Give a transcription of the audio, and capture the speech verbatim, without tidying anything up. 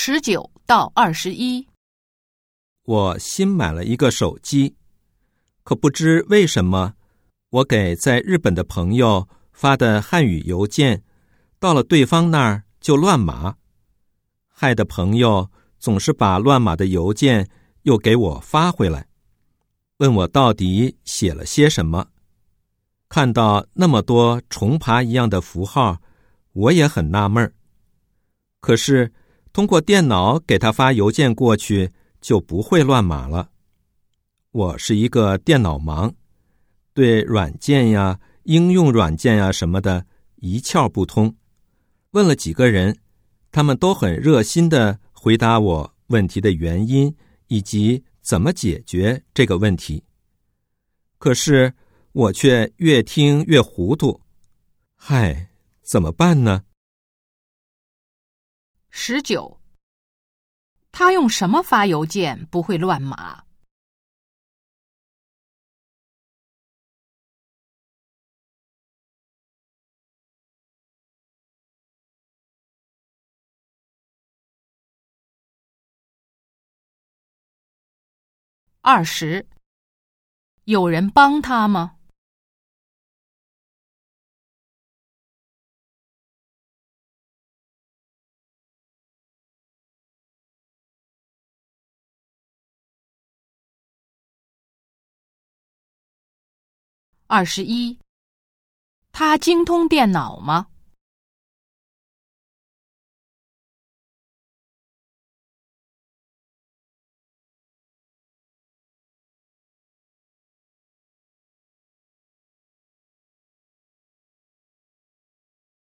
十九到二十一。 我新买了一个手机，可不知为什么，我给在日本的朋友发的汉语邮件，到了对方那儿就乱码，害得朋友总是把乱码的邮件又给我发回来，问我到底写了些什么。看到那么多重爬一样的符号，我也很纳闷儿。可是通过电脑给他发邮件过去，就不会乱码了。我是一个电脑盲，对软件呀、应用软件呀什么的一窍不通。问了几个人，他们都很热心地回答我问题的原因以及怎么解决这个问题。可是我却越听越糊涂，嗨，怎么办呢？ 十九，他用什么发邮件不会乱码？二十，有人帮他吗？二十一，他精通电脑吗？